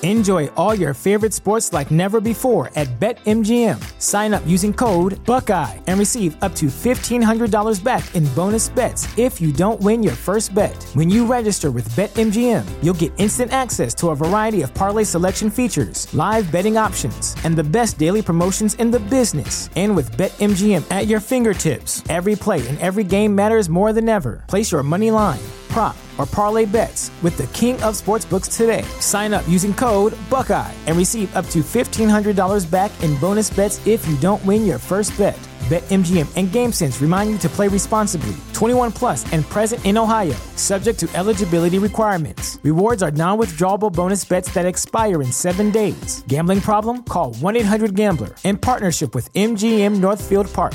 Enjoy all your favorite sports like never before at BetMGM. Sign up using code Buckeye and receive up to $1,500 back in bonus bets if you don't win your first bet. When you register with BetMGM, you'll get instant access to a variety of parlay selection features, live betting options, and the best daily promotions in the business. And with BetMGM at your fingertips, every play and every game matters more than ever. Place your money line, prop, or parlay bets with the king of sportsbooks today. Sign up using code Buckeye and receive up to $1,500 back in bonus bets if you don't win your first bet. BetMGM and GameSense remind you to play responsibly. 21 plus and present in Ohio, subject to eligibility requirements. Rewards are non-withdrawable bonus bets that expire in 7 days. Gambling problem? Call 1-800-GAMBLER. In partnership with MGM Northfield Park.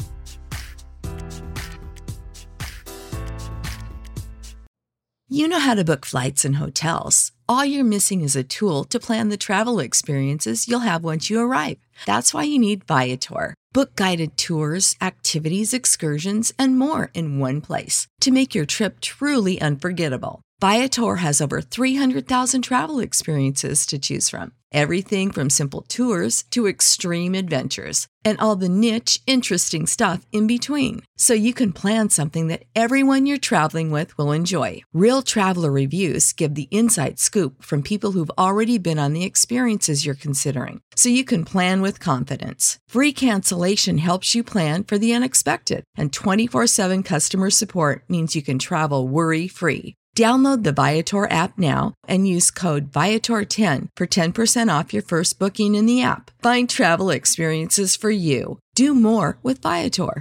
You know how to book flights and hotels. All you're missing is a tool to plan the travel experiences you'll have once you arrive. That's why you need Viator. Book guided tours, activities, excursions, and more in one place to make your trip truly unforgettable. Viator has over 300,000 travel experiences to choose from. Everything from simple tours to extreme adventures and all the niche, interesting stuff in between. So you can plan something that everyone you're traveling with will enjoy. Real traveler reviews give the inside scoop from people who've already been on the experiences you're considering. So you can plan with confidence. Free cancellation helps you plan for the unexpected. And 24/7 customer support means you can travel worry-free. Download the Viator app now and use code Viator10 for 10% off your first booking in the app. Find travel experiences for you. Do more with Viator.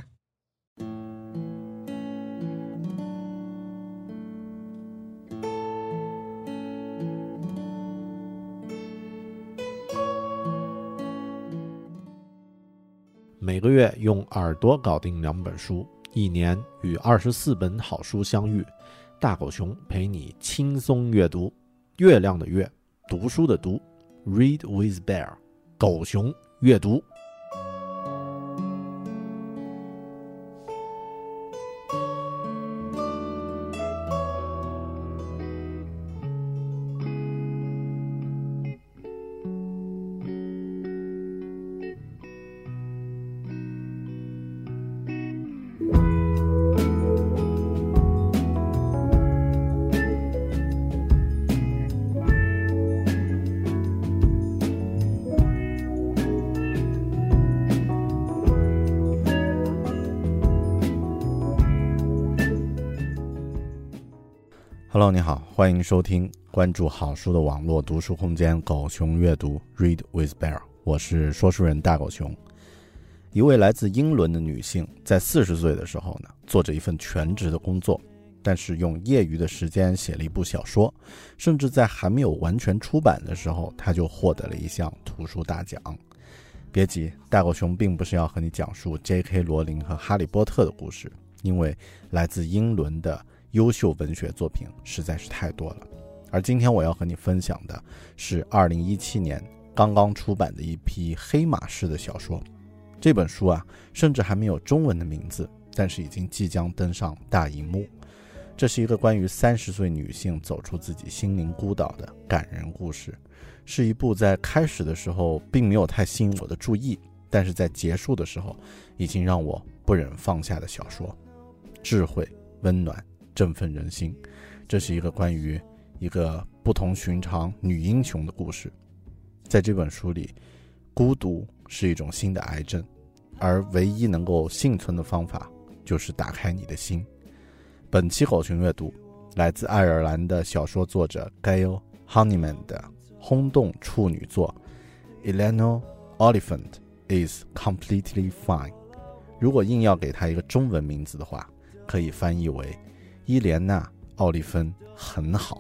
每个月用耳朵搞定2本书，一年与24本好书相遇。大狗熊陪你轻松阅读，月亮的月，读书的读 ，Read with Bear， 狗熊阅读。Hello， 你好，欢迎收听关注好书的网络读书空间狗熊阅读 Read with Bear， 我是说书人大狗熊。一位来自英伦的女性在40岁的时候呢，做着一份全职的工作，但是用业余的时间写了一部小说，甚至在还没有完全出版的时候，她就获得了一项图书大奖。别急，大狗熊并不是要和你讲述 J.K. 罗琳和哈利波特的故事，因为来自英伦的优秀文学作品实在是太多了。而今天我要和你分享的是2017年刚刚出版的一批黑马式的小说。这本书啊，甚至还没有中文的名字，但是已经即将登上大荧幕。这是一个关于30岁女性走出自己心灵孤岛的感人故事，是一部在开始的时候并没有太吸引我的注意，但是在结束的时候已经让我不忍放下的小说。智慧、温暖、振奋人心，这是一个关于一个不同寻常女英雄的故事。在这本书里，孤独是一种新的癌症，而唯一能够幸存的方法就是打开你的心。本期狗熊阅读来自爱尔兰的小说作者 Gail Honeyman 的轰动处女作 Eleanor Oliphant is completely fine。 如果硬要给它一个中文名字的话，可以翻译为伊莲娜·奥利芬很好。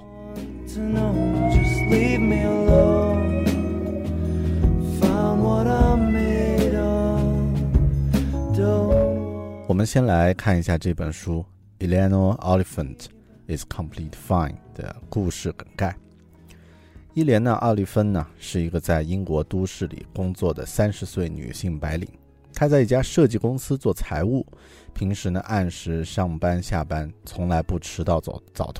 我们先来看一下这本书 Eleanor Oliphant is Complete Fine 的故事梗概。伊莲娜·奥利芬呢，是一个在英国都市里工作的30岁女性白领。她在一家设计公司做财务，平时呢按时上班下班，从来不迟到早退。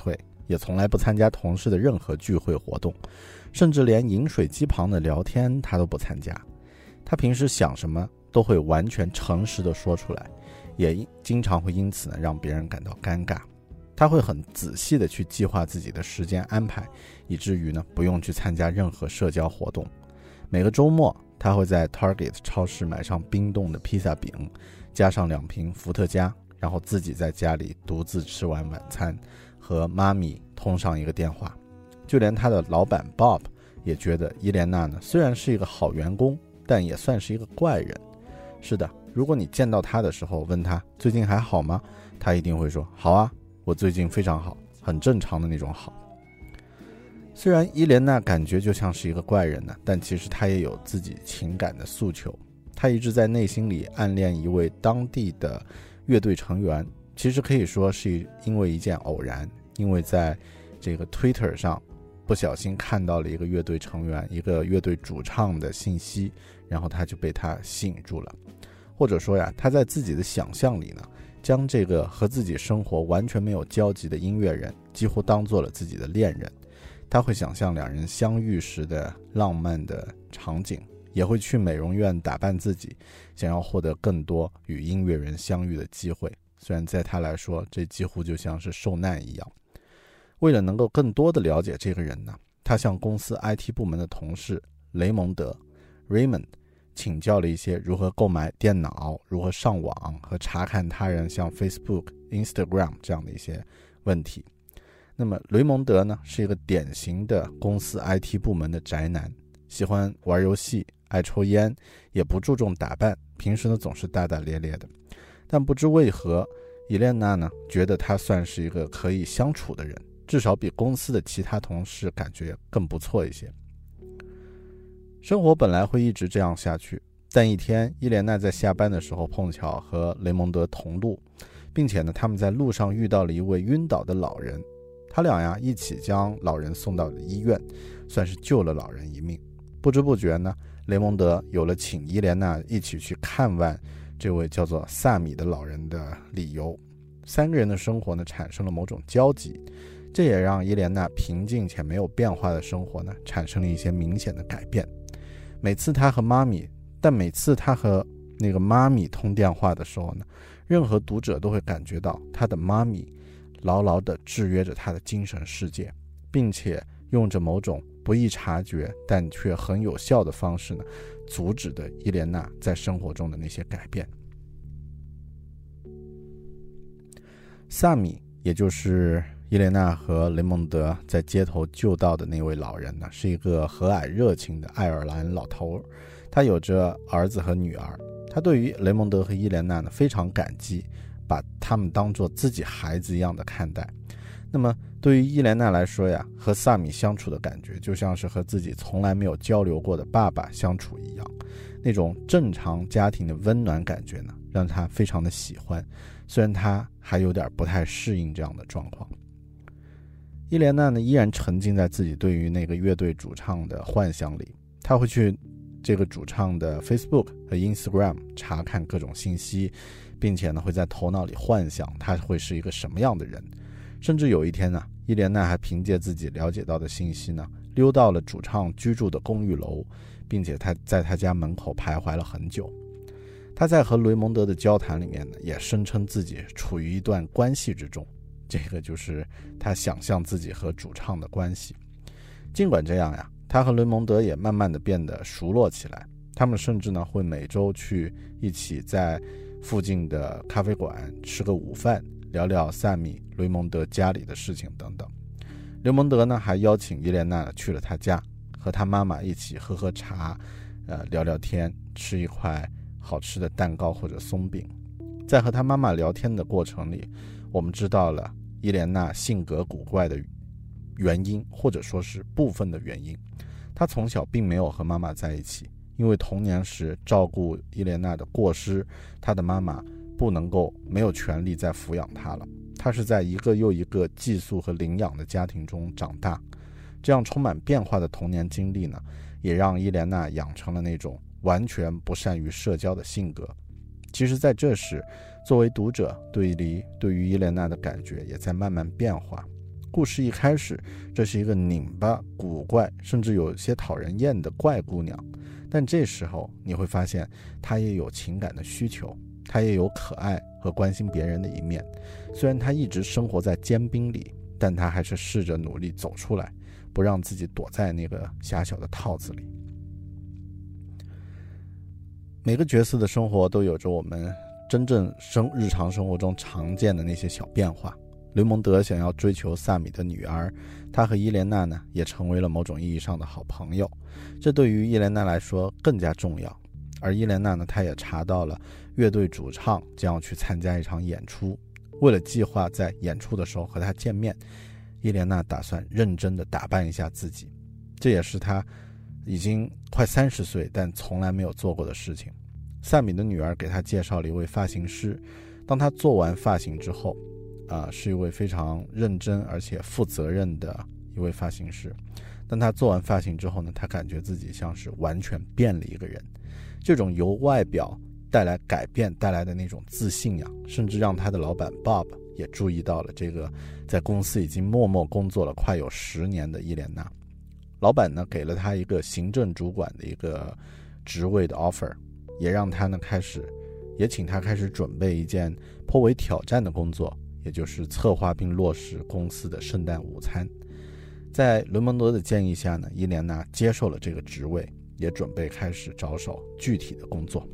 也从来不参加同事的任何聚会活动，甚至连饮水机旁的聊天他都不参加。他平时想什么都会完全诚实地说出来，也经常会因此呢让别人感到尴尬。他会很仔细地去计划自己的时间安排，以至于呢不用去参加任何社交活动。每个周末他会在 Target 超市买上冰冻的披萨饼，加上2瓶伏特加，然后自己在家里独自吃完晚餐，和妈咪通上一个电话。就连他的老板 Bob 也觉得伊莲娜呢虽然是一个好员工，但也算是一个怪人。是的，如果你见到他的时候问他最近还好吗，他一定会说好啊，我最近非常好，很正常的那种好。虽然伊莲娜感觉就像是一个怪人呢，但其实她也有自己情感的诉求。她一直在内心里暗恋一位当地的乐队成员，其实可以说是因为一件偶然，因为在这个 Twitter 上不小心看到了一个乐队成员，一个乐队主唱的信息，然后他就被他吸引住了。或者说呀，他在自己的想象里呢，将这个和自己生活完全没有交集的音乐人几乎当做了自己的恋人。他会想象2人相遇时的浪漫的场景，也会去美容院打扮自己，想要获得更多与音乐人相遇的机会。虽然在他来说，这几乎就像是受难一样。为了能够更多的了解这个人呢，他向公司 IT 部门的同事雷蒙德 Raymond 请教了一些如何购买电脑、如何上网和查看他人像 Facebook、Instagram 这样的一些问题。那么雷蒙德呢是一个典型的公司 IT 部门的宅男，喜欢玩游戏，爱抽烟，也不注重打扮，平时呢总是大大咧咧的。但不知为何，伊莲娜呢觉得他算是一个可以相处的人，至少比公司的其他同事感觉更不错一些。生活本来会一直这样下去，但一天伊莲娜在下班的时候碰巧和雷蒙德同路，并且呢他们在路上遇到了一位晕倒的老人。他俩呀一起将老人送到了医院，算是救了老人一命。不知不觉呢，雷蒙德有了请伊莲娜一起去看望这位叫做萨米的老人的理由。3个人的生活呢产生了某种交集，这也让伊莲娜平静且没有变化的生活呢产生了一些明显的改变。每次他和妈咪那个妈咪通电话的时候呢，任何读者都会感觉到他的妈咪牢牢地制约着他的精神世界，并且用着某种不易察觉但却很有效的方式呢，阻止的伊莲娜在生活中的那些改变。萨米，也就是伊莲娜和雷蒙德在街头救到的那位老人呢，是一个和蔼热情的爱尔兰老头，他有着儿子和女儿。他对于雷蒙德和伊莲娜呢非常感激，把他们当作自己孩子一样的看待。那么对于伊莲娜来说呀，和萨米相处的感觉就像是和自己从来没有交流过的爸爸相处一样，那种正常家庭的温暖感觉呢，让她非常的喜欢，虽然她还有点不太适应这样的状况。伊莲娜呢依然沉浸在自己对于那个乐队主唱的幻想里，她会去这个主唱的 Facebook 和 Instagram 查看各种信息，并且呢会在头脑里幻想他会是一个什么样的人。甚至有一天呢，伊莲娜还凭借自己了解到的信息呢，溜到了主唱居住的公寓楼，并且他在他家门口徘徊了很久。他在和雷蒙德的交谈里面呢，也声称自己处于一段关系之中，这个就是他想象自己和主唱的关系。尽管这样呀，他和雷蒙德也慢慢的变得熟络起来，他们甚至呢会每周去一起在附近的咖啡馆吃个午饭，聊聊萨米、雷蒙德家里的事情等等。雷蒙德呢还邀请伊莲娜去了他家，和他妈妈一起喝喝茶，聊聊天，吃一块好吃的蛋糕或者松饼。在和他妈妈聊天的过程里，我们知道了伊莲娜性格古怪的原因，或者说是部分的原因。她从小并没有和妈妈在一起，因为童年时照顾伊莲娜的过失，她的妈妈没有权利再抚养她了。她是在一个又一个寄宿和领养的家庭中长大。这样充满变化的童年经历呢，也让伊莲娜养成了那种完全不善于社交的性格。其实在这时，作为读者对于伊莲娜的感觉也在慢慢变化。 故事一开始，这是一个拧巴、古怪，甚至有些讨人厌的怪姑娘，但这时候你会发现，她也有情感的需求，她也有可爱和关心别人的一面。虽然她一直生活在坚冰里，但她还是试着努力走出来，不让自己躲在那个狭小的套子里。每个角色的生活都有着我们真正日常生活中常见的那些小变化。雷蒙德想要追求萨米的女儿，他和伊莲娜呢也成为了某种意义上的好朋友，这对于伊莲娜来说更加重要。而伊莲娜呢，她也查到了乐队主唱将要去参加一场演出，为了计划在演出的时候和他见面，伊莲娜打算认真地打扮一下自己，这也是她已经快30岁但从来没有做过的事情。萨米的女儿给她介绍了一位发型师，当她做完发型之后是一位非常认真而且负责任的一位发型师。当他做完发型之后呢，他感觉自己像是完全变了一个人。这种由外表带来改变带来的那种自信甚至让他的老板 Bob 也注意到了这个在公司已经默默工作了快有10年的伊莲娜。老板呢给了他一个行政主管的一个职位的 offer， 也让他呢请他开始准备一件颇为挑战的工作，也就是策划并落实公司的圣诞午餐。在雷蒙德的建议下呢，伊莲娜接受了这个职位，也准备开始着手具体的工作。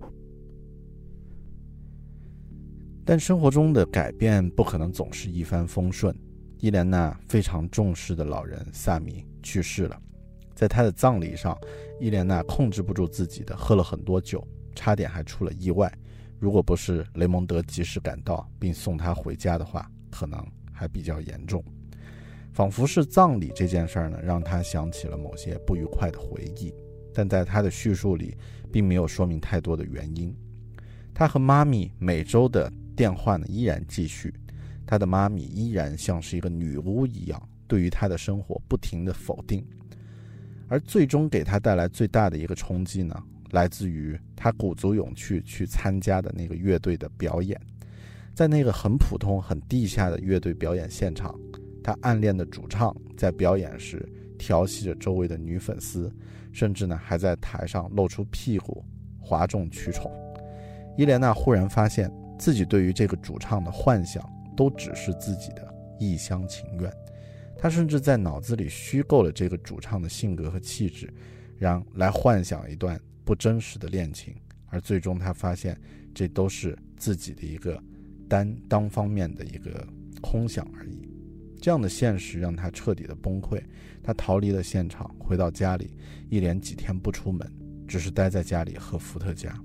但生活中的改变不可能总是一帆风顺。伊莲娜非常重视的老人萨米去世了，在他的葬礼上，伊莲娜控制不住自己的喝了很多酒，差点还出了意外。如果不是雷蒙德及时赶到并送他回家的话，可能还比较严重。仿佛是葬礼这件事呢，让他想起了某些不愉快的回忆，但在他的叙述里并没有说明太多的原因。他和妈咪每周的电话呢依然继续，他的妈咪依然像是一个女巫一样，对于他的生活不停地否定。而最终给他带来最大的一个冲击呢，来自于他鼓足勇气去参加的那个乐队的表演。在那个很普通很地下的乐队表演现场，他暗恋的主唱在表演时调戏着周围的女粉丝，甚至呢还在台上露出屁股，哗众取宠。伊莲娜忽然发现自己对于这个主唱的幻想都只是自己的一厢情愿，他甚至在脑子里虚构了这个主唱的性格和气质，来幻想一段不真实的恋情，而最终他发现这都是自己的一个单方面的一个空想而已。这样的现实让他彻底的崩溃，他逃离了现场，回到家里，一连几天不出门，只是待在家里喝伏特加。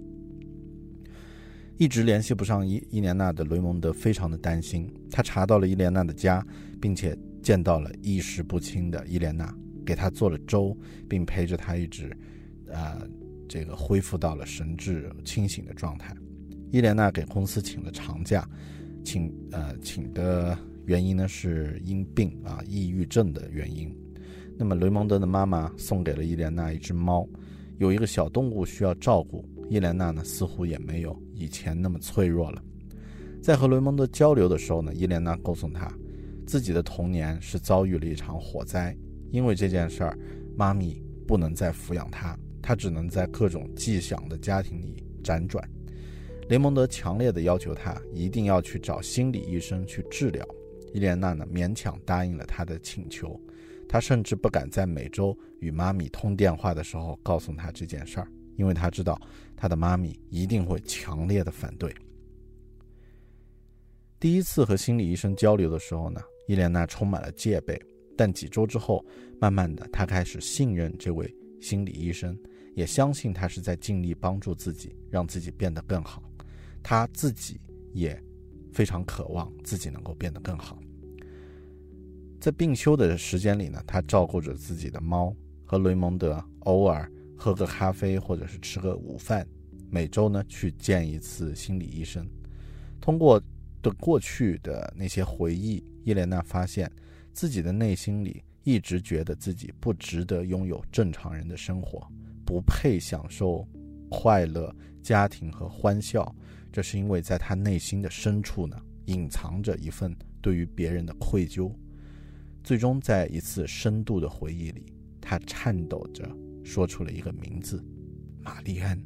一直联系不上伊莲娜的雷蒙德非常的担心，他查到了伊莲娜的家，并且见到了意识不清的伊莲娜，给她做了粥，并陪着她一直恢复到了神志清醒的状态。伊莲娜给公司请了长假，请的原因呢是因病抑郁症的原因。那么雷蒙德的妈妈送给了伊莲娜一只猫，有一个小动物需要照顾，伊莲娜呢似乎也没有以前那么脆弱了。在和雷蒙德交流的时候呢，伊莲娜告诉他自己的童年是遭遇了一场火灾，因为这件事儿，妈咪不能再抚养他，他只能在各种寄养的家庭里辗转。雷蒙德强烈地要求他一定要去找心理医生去治疗，伊莲娜呢勉强答应了他的请求。他甚至不敢在每周与妈咪通电话的时候告诉他这件事儿，因为他知道他的妈咪一定会强烈的反对。第一次和心理医生交流的时候呢，伊莲娜充满了戒备，但几周之后，慢慢的她开始信任这位心理医生，也相信他是在尽力帮助自己，让自己变得更好。他自己也非常渴望自己能够变得更好。在病休的时间里呢，他照顾着自己的猫，和雷蒙德偶尔喝个咖啡或者是吃个午饭，每周呢去见一次心理医生。通过对过去的那些回忆，伊莲娜发现自己的内心里一直觉得自己不值得拥有正常人的生活，不配享受快乐、家庭和欢笑。这是因为在他内心的深处呢，隐藏着一份对于别人的愧疚最终在一次深度的回忆里，他颤抖着说出了一个名字：玛丽安。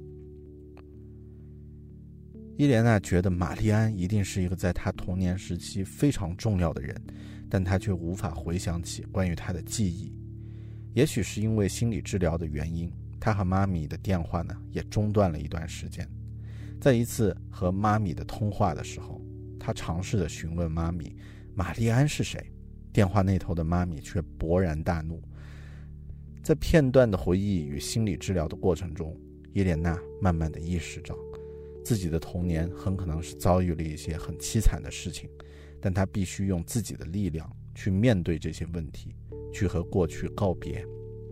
伊莲娜觉得玛丽安一定是一个在她童年时期非常重要的人，但她却无法回想起关于她的记忆。也许是因为心理治疗的原因，她和妈咪的电话呢也中断了一段时间。在一次和妈咪的通话的时候，她尝试着询问妈咪玛丽安是谁，电话那头的妈咪却勃然大怒。在片段的回忆与心理治疗的过程中，伊莲娜慢慢地意识到自己的童年很可能是遭遇了一些很凄惨的事情，但她必须用自己的力量去面对这些问题，去和过去告别。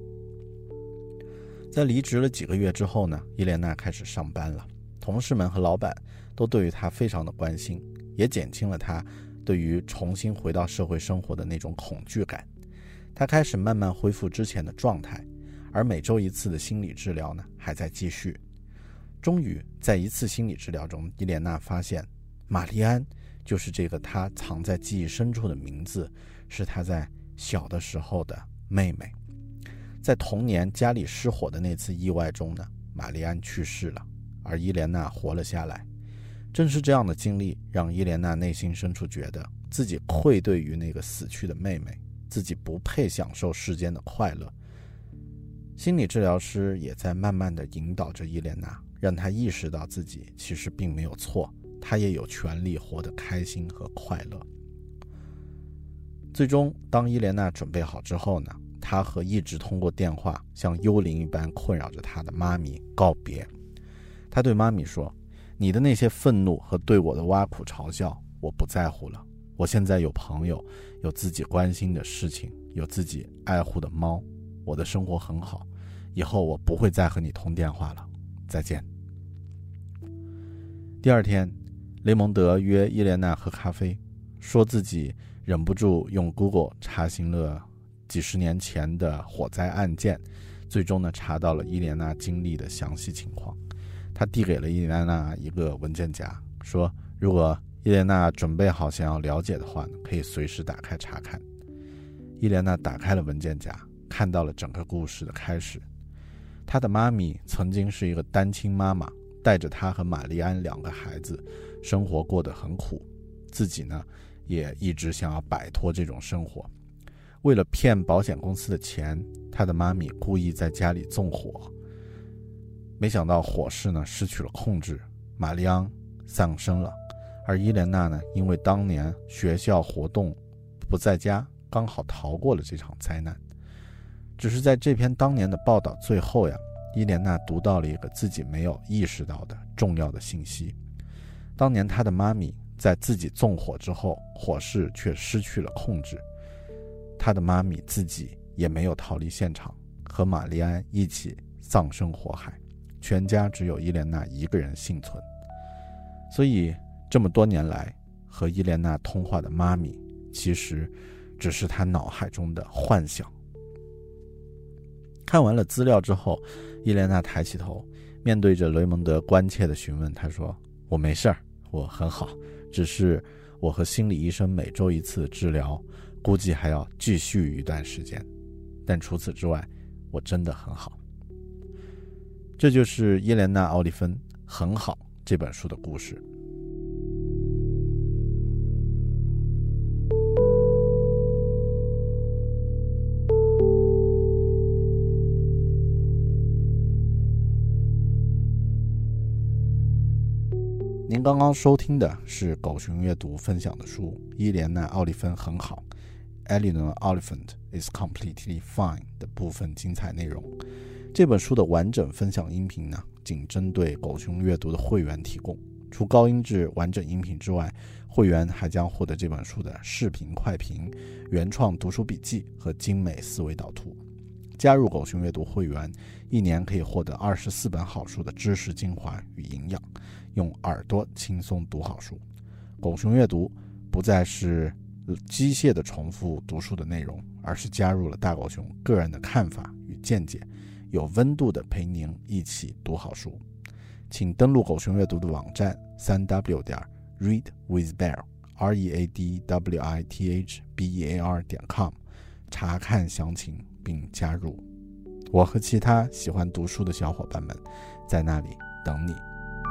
在离职了几个月之后呢，伊莲娜开始上班了，同事们和老板都对于她非常的关心，也减轻了她对于重新回到社会生活的那种恐惧感。她开始慢慢恢复之前的状态，而每周一次的心理治疗呢还在继续。终于在一次心理治疗中，伊莲娜发现玛丽安就是这个她藏在记忆深处的名字，是她在小的时候的妹妹。在童年家里失火的那次意外中呢，玛丽安去世了，而伊莲娜活了下来。正是这样的经历让伊莲娜内心深处觉得自己愧对于那个死去的妹妹，自己不配享受世间的快乐。心理治疗师也在慢慢地引导着伊莲娜，让她意识到自己其实并没有错，她也有权利活得开心和快乐。最终当伊莲娜准备好之后呢，她和一直通过电话像幽灵一般困扰着她的妈咪告别。她对妈咪说，你的那些愤怒和对我的挖苦嘲笑我不在乎了，我现在有朋友，有自己关心的事情，有自己爱护的猫，我的生活很好，以后我不会再和你通电话了，再见。第二天，雷蒙德约伊莲娜喝咖啡，说自己忍不住用 Google 查询了几十年前的火灾案件，最终呢查到了伊莲娜经历的详细情况。他递给了伊莲娜一个文件夹，说如果伊莲娜准备好想要了解的话呢，可以随时打开查看。伊莲娜打开了文件夹，看到了整个故事的开始。她的妈咪曾经是一个单亲妈妈，带着她和玛丽安两个孩子，生活过得很苦，自己呢也一直想要摆脱这种生活。为了骗保险公司的钱，她的妈咪故意在家里纵火，没想到火势呢失去了控制，玛丽安丧生了。而伊莲娜呢，因为当年学校活动不在家，刚好逃过了这场灾难。只是在这篇当年的报道最后呀，伊莲娜读到了一个自己没有意识到的重要的信息。当年她的妈咪在自己纵火之后，火势却失去了控制，她的妈咪自己也没有逃离现场，和玛丽安一起葬身火海，全家只有伊莲娜一个人幸存。所以这么多年来和伊莲娜通话的妈咪，其实只是她脑海中的幻想。看完了资料之后，伊莲娜抬起头，面对着雷蒙德关切的询问，她说，我没事儿，我很好，只是我和心理医生每周一次治疗，估计还要继续一段时间，但除此之外我真的很好。这就是伊莲娜·奥利芬《很好》这本书的故事。您刚刚收听的是狗熊阅读分享的书《伊莲娜·奥利芬很好》 Eleanor Oliphant is completely fine 的部分精彩内容。这本书的完整分享音频呢，仅针对狗熊阅读的会员提供。除高音质完整音频之外，会员还将获得这本书的视频快评、原创读书笔记和精美思维导图。加入狗熊阅读会员，1年可以获得24本好书的知识精华与营养，用耳朵轻松读好书。狗熊阅读不再是机械的重复读书的内容，而是加入了大狗熊个人的看法与见解，有温度的陪您一起读好书。请登录狗熊阅读的网站 3w.readwithbear readwithbear.com 查看详情并加入。我和其他喜欢读书的小伙伴们在那里等你。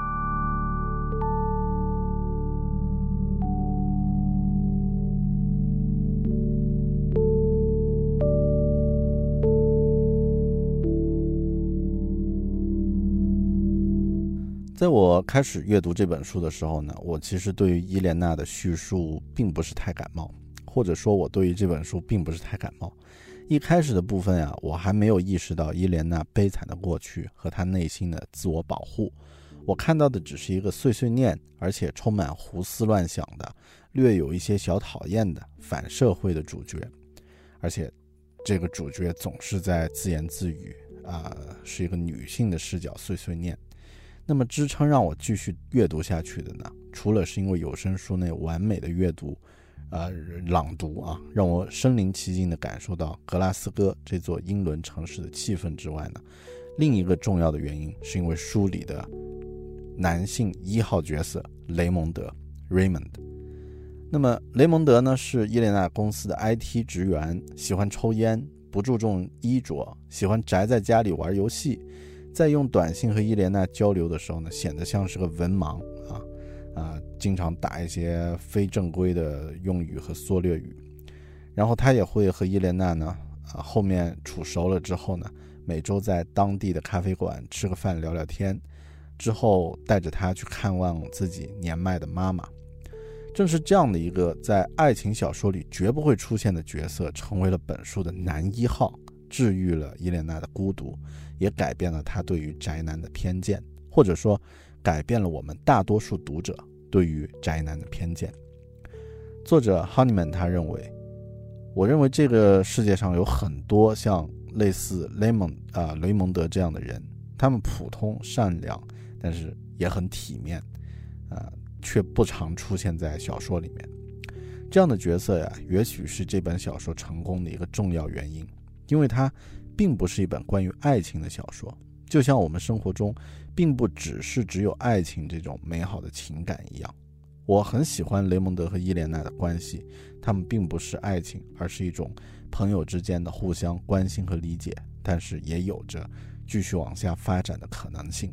在我开始阅读这本书的时候呢，我其实对于伊莲娜的叙述并不是太感冒，或者说我对于这本书并不是太感冒。一开始的部分啊，我还没有意识到伊莲娜悲惨的过去和她内心的自我保护，我看到的只是一个碎碎念，而且充满胡思乱想的，略有一些小讨厌的反社会的主角，而且这个主角总是在自言自语是一个女性的视角碎碎念。那么支撑让我继续阅读下去的呢，除了是因为有声书那完美的阅读朗读让我身临其境地感受到格拉斯哥这座英伦城市的气氛之外呢，另一个重要的原因是因为书里的男性1号角色雷蒙德 Raymond。 那么雷蒙德呢是伊莲娜公司的 IT 职员，喜欢抽烟，不注重衣着，喜欢宅在家里玩游戏，在用短信和伊莲娜交流的时候呢，显得像是个文盲经常打一些非正规的用语和缩略语。然后他也会和伊莲娜呢后面处熟了之后呢，每周在当地的咖啡馆吃个饭聊聊天，之后带着他去看望自己年迈的妈妈。正是这样的一个在爱情小说里绝不会出现的角色，成为了本书的男1号，治愈了伊莲娜的孤独，也改变了他对于宅男的偏见，或者说改变了我们大多数读者对于宅男的偏见。作者 Honeyman 他认为，我认为这个世界上有很多像类似雷蒙德这样的人，他们普通善良，但是也很体面却不常出现在小说里面。这样的角色呀，也许是这本小说成功的一个重要原因，因为它并不是一本关于爱情的小说，就像我们生活中并不只有爱情这种美好的情感一样。我很喜欢雷蒙德和伊莲娜的关系，他们并不是爱情，而是一种朋友之间的互相关心和理解，但是也有着继续往下发展的可能性。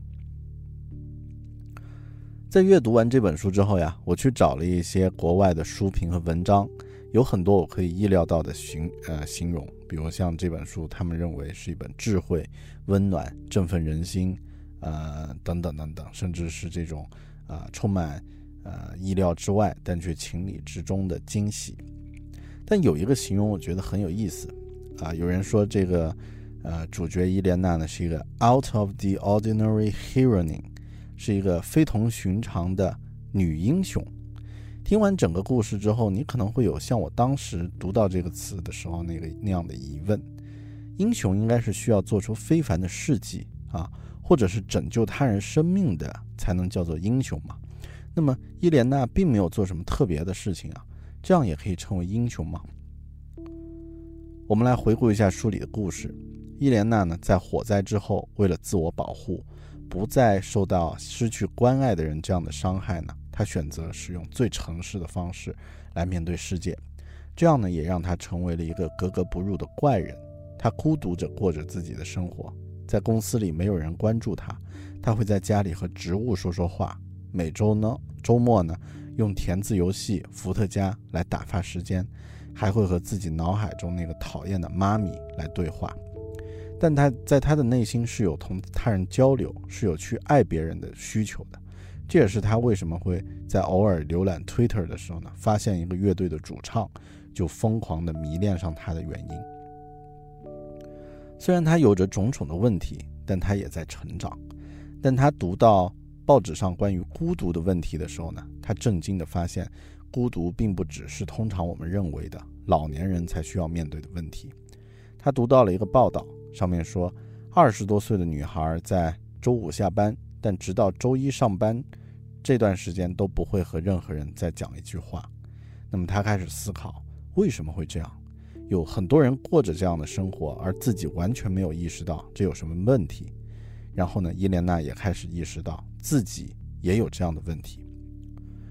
在阅读完这本书之后呀，我去找了一些国外的书评和文章，有很多我可以意料到的形容，比如像这本书他们认为是一本智慧、温暖、振奋人心等等等等，甚至是这种充满意料之外但却情理之中的惊喜。但有一个形容我觉得很有意思有人说这个主角伊莲娜呢是一个 out of the ordinary heroine， 是一个非同寻常的女英雄。听完整个故事之后，你可能会有像我当时读到这个词的时候那样的疑问，英雄应该是需要做出非凡的事迹或者是拯救他人生命的才能叫做英雄嘛？那么伊莲娜并没有做什么特别的事情这样也可以称为英雄吗？我们来回顾一下书里的故事。伊莲娜呢，在火灾之后，为了自我保护，不再受到失去关爱的人这样的伤害呢，她选择使用最诚实的方式来面对世界。这样呢，也让她成为了一个格格不入的怪人。她孤独着过着自己的生活，在公司里没有人关注她，她会在家里和植物说说话。每周末呢，用填字游戏伏特加来打发时间，还会和自己脑海中那个讨厌的妈咪来对话。但他在他的内心是有同他人交流，是有去爱别人的需求的。这也是他为什么会在偶尔浏览 Twitter 的时候呢，发现一个乐队的主唱就疯狂地迷恋上他的原因。虽然他有着种种的问题，但他也在成长。但他读到报纸上关于孤独的问题的时候呢，他震惊地发现，孤独并不只是通常我们认为的老年人才需要面对的问题。他读到了一个报道，上面说20多岁的女孩在周5下班，但直到周1上班这段时间都不会和任何人再讲一句话。那么他开始思考，为什么会这样？有很多人过着这样的生活，而自己完全没有意识到这有什么问题。然后呢，伊莲娜也开始意识到自己也有这样的问题。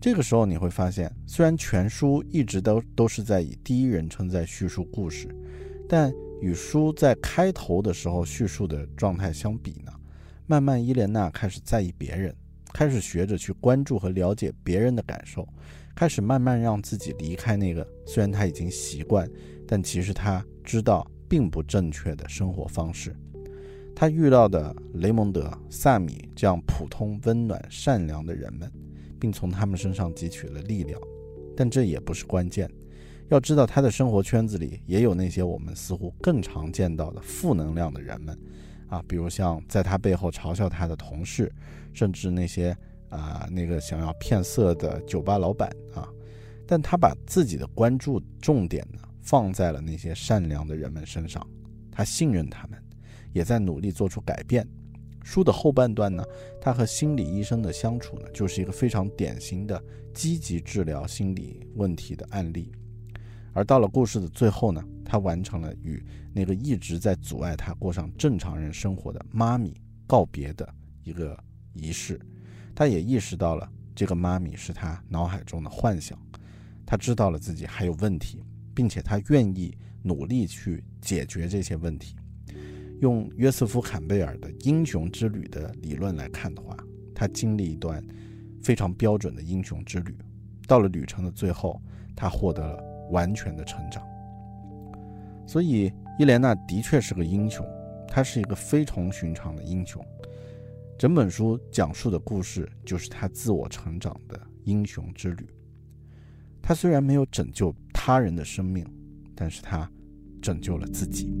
这个时候你会发现，虽然全书一直都是在以第一人称在叙述故事，但与书在开头的时候叙述的状态相比呢，慢慢伊莲娜开始在意别人，开始学着去关注和了解别人的感受，开始慢慢让自己离开那个虽然他已经习惯，但其实他知道并不正确的生活方式。他遇到的雷蒙德、萨米这样普通、温暖、善良的人们，并从他们身上汲取了力量，但这也不是关键。要知道他的生活圈子里也有那些我们似乎更常见到的负能量的人们啊，比如像在他背后嘲笑他的同事，甚至那些那个想要骗色的酒吧老板啊。但他把自己的关注重点呢放在了那些善良的人们身上，他信任他们，也在努力做出改变。书的后半段呢，他和心理医生的相处呢，就是一个非常典型的积极治疗心理问题的案例。而到了故事的最后呢，他完成了与那个一直在阻碍他过上正常人生活的妈咪告别的一个仪式。他也意识到了这个妈咪是他脑海中的幻想，他知道了自己还有问题，并且他愿意努力去解决这些问题。用约瑟夫·坎贝尔的英雄之旅的理论来看的话，他经历一段非常标准的英雄之旅，到了旅程的最后，他获得了完全的成长。所以伊莲娜的确是个英雄，她是一个非同寻常的英雄。整本书讲述的故事就是她自我成长的英雄之旅。她虽然没有拯救他人的生命，但是她拯救了自己。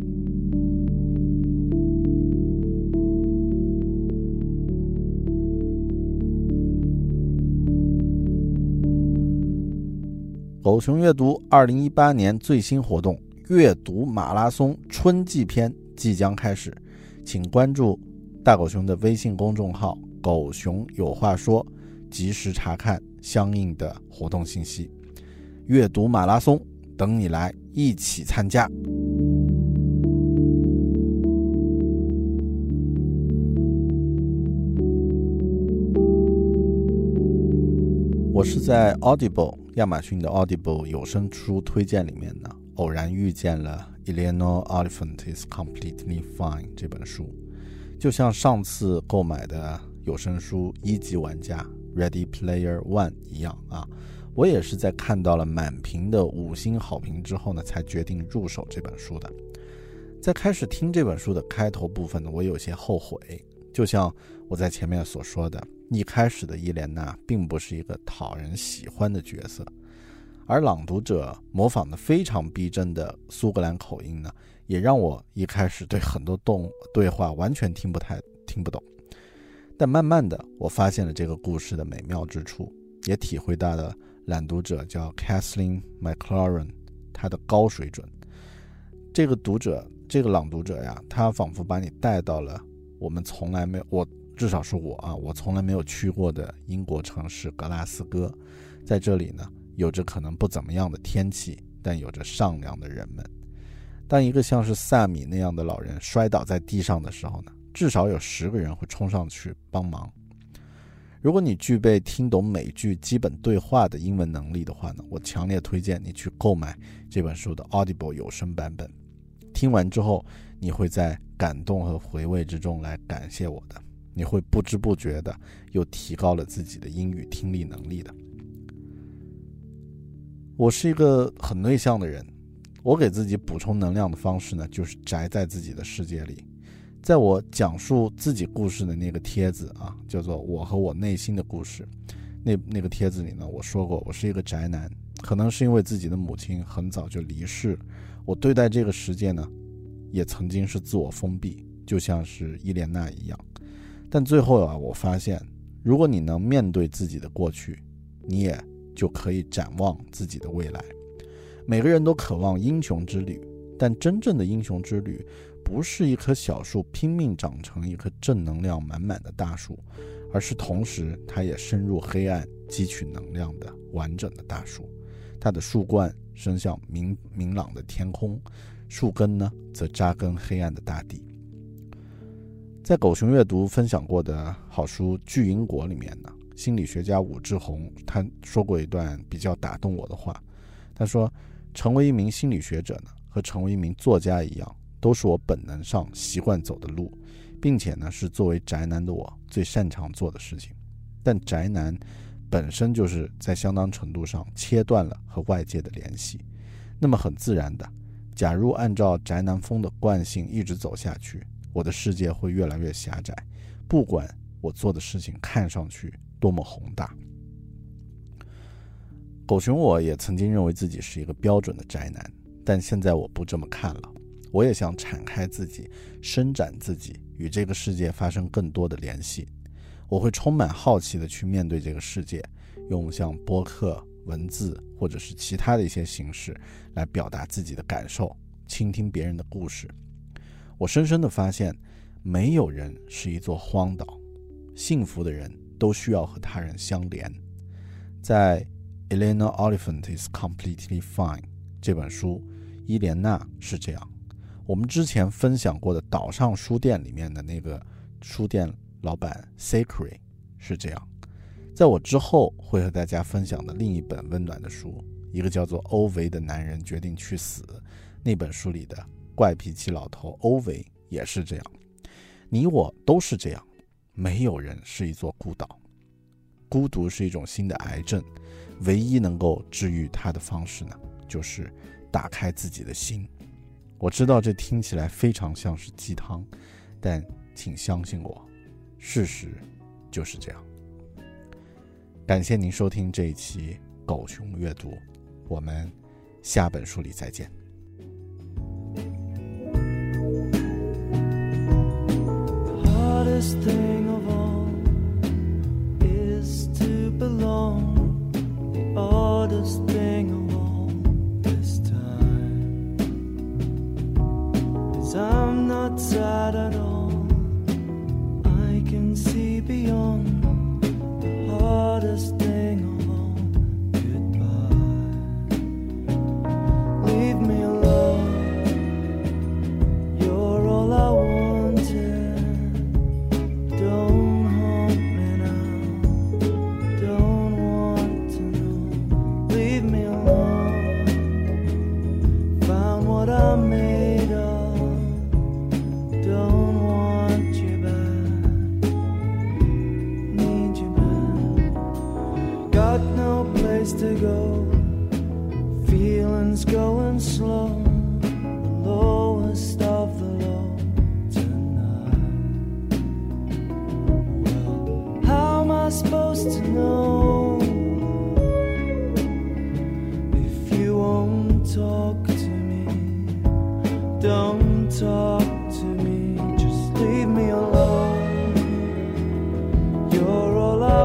狗熊阅读2018年最新活动阅读马拉松春季篇即将开始，请关注大狗熊的微信公众号狗熊有话说，及时查看相应的活动信息。阅读马拉松等你来一起参加。我是在 Audible 亚马逊的 Audible 有声书推荐里面呢，偶然遇见了 Eleanor Oliphant is Completely Fine 这本书。就像上次购买的有声书一级玩家 Ready Player One 一样啊，我也是在看到了满屏的5星好评之后呢，才决定入手这本书的。在开始听这本书的开头部分呢，我有些后悔，就像我在前面所说的，一开始的伊莲娜并不是一个讨人喜欢的角色，而朗读者模仿的非常逼真的苏格兰口音呢，也让我一开始对很多对话完全听不懂。但慢慢的我发现了这个故事的美妙之处，也体会到了朗读者叫 Kathleen McLaurin 他的高水准。这个朗读者呀，他仿佛把你带到了至少是我从来没有去过的英国城市格拉斯哥。在这里呢，有着可能不怎么样的天气，但有着善良的人们。当一个像是萨米那样的老人摔倒在地上的时候呢，至少有10个人会冲上去帮忙。如果你具备听懂每句基本对话的英文能力的话呢，我强烈推荐你去购买这本书的 Audible 有声版本。听完之后，你会在感动和回味之中来感谢我的，你会不知不觉的又提高了自己的英语听力能力的。我是一个很内向的人，我给自己补充能量的方式呢，就是宅在自己的世界里。在我讲述自己故事的那个帖子啊，叫做我和我内心的故事，那个帖子里呢，我说过我是一个宅男，可能是因为自己的母亲很早就离世，我对待这个世界呢也曾经是自我封闭，就像是伊莲娜一样。但最后我发现如果你能面对自己的过去，你也就可以展望自己的未来。每个人都渴望英雄之旅，但真正的英雄之旅不是一棵小树拼命长成一棵正能量满满的大树，而是同时它也深入黑暗汲取能量的完整的大树。它的树冠伸向明朗的天空，树根呢则扎根黑暗的大地。在狗熊阅读分享过的好书《巨婴国》里面呢， 心理学家武志红他说过一段比较打动我的话，他说成为一名心理学者呢，和成为一名作家一样，都是我本能上习惯走的路，并且呢是作为宅男的我最擅长做的事情。但宅男本身就是在相当程度上切断了和外界的联系，那么很自然的，假如按照宅男风的惯性一直走下去，我的世界会越来越狭窄，不管我做的事情看上去多么宏大。狗熊我也曾经认为自己是一个标准的宅男，但现在我不这么看了，我也想敞开自己，伸展自己，与这个世界发生更多的联系。我会充满好奇的去面对这个世界，用像播客、文字或者是其他的一些形式来表达自己的感受，倾听别人的故事。我深深地发现，没有人是一座荒岛，幸福的人都需要和他人相连。在 Elena Oliphant is Completely Fine 这本书，伊莲娜是这样。我们之前分享过的岛上书店里面的那个书店老板 Sakuri 是这样。在我之后会和大家分享的另一本温暖的书，一个叫做欧维的男人决定去死，那本书里的怪脾气老头欧维也是这样。你我都是这样，没有人是一座孤岛。孤独是一种新的癌症，唯一能够治愈它的方式呢，就是打开自己的心。我知道这听起来非常像是鸡汤，但请相信我，事实就是这样。感谢您收听这一期狗熊阅读，我们下本书里再见。 Hardest thing of all is to belong. The oddest thing of all this time is I'm not sad at all. I can see beyond the hardest thing of all. Goodbye. Leave me alone. You're all I want.To go, feelings going slow, the lowest of the low tonight. Well, how am I supposed to know if you won't talk to me? Don't talk to me, just leave me alone. You're all I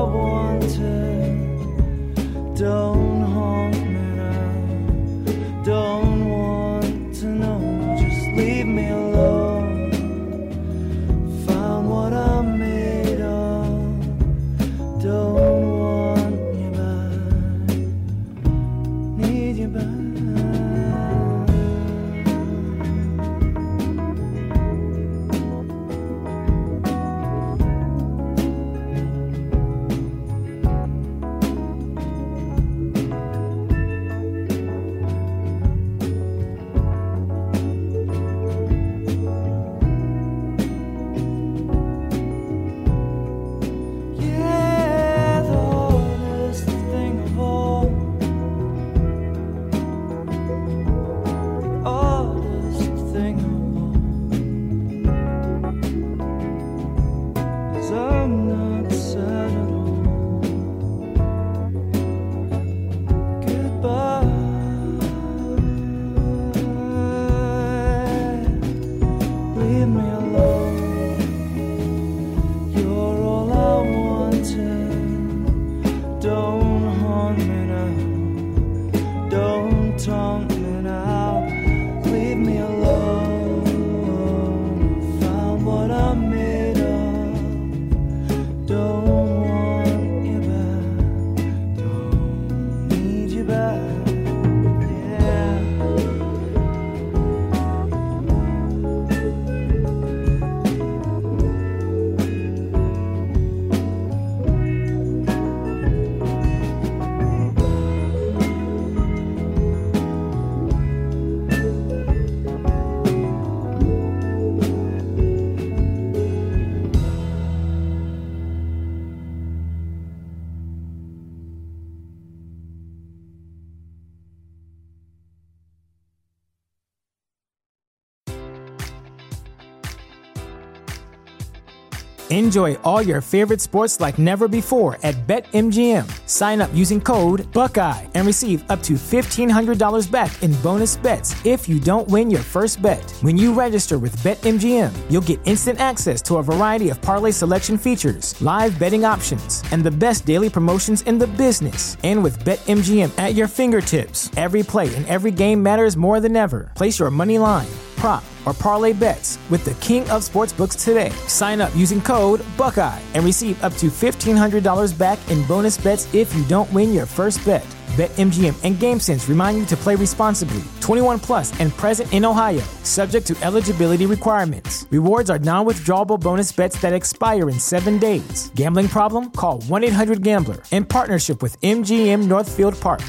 wanted.Don't haunt me now. Don't want to know. Just leave me alone. Found what I'm made of. Don't want you back. Need you back. Enjoy all your favorite sports like never before at BetMGM. Sign up using code Buckeye and receive up to $1,500 back in bonus bets if you don't win your first bet. When you register with BetMGM, you'll get instant access to a variety of parlay selection features, live betting options, and the best daily promotions in the business. And with BetMGM at your fingertips, every play and every game matters more than ever. Place your money line, prop, or parlay bets with the king of sportsbooks today. Sign up using code Buckeye and receive up to $1,500 back in bonus bets if you don't win your first bet. BetMGM and GameSense remind you to play responsibly. 21 plus and present in Ohio, subject to eligibility requirements. Rewards are non-withdrawable bonus bets that expire in 7 days. Gambling problem? Call 1-800-GAMBLER. In partnership with MGM Northfield Park.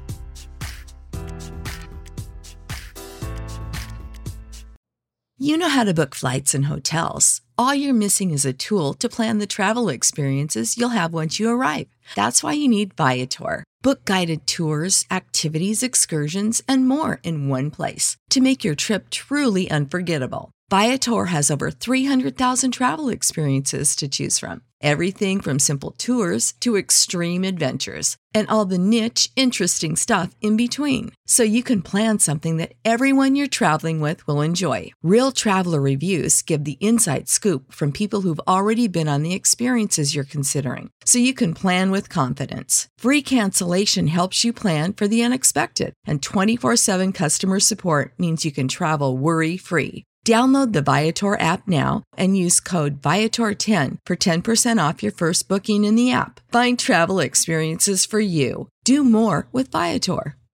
You know how to book flights and hotels. All you're missing is a tool to plan the travel experiences you'll have once you arrive. That's why you need Viator. Book guided tours, activities, excursions, and more in one place to make your trip truly unforgettable. Viator has over 300,000 travel experiences to choose from. Everything from simple tours to extreme adventures and all the niche, interesting stuff in between. So you can plan something that everyone you're traveling with will enjoy. Real traveler reviews give the inside scoop from people who've already been on the experiences you're considering. So you can plan with confidence. Free cancellation helps you plan for the unexpected. And 24/7 customer support means you can travel worry-free. Download the Viator app now and use code Viator10 for 10% off your first booking in the app. Find travel experiences for you. Do more with Viator.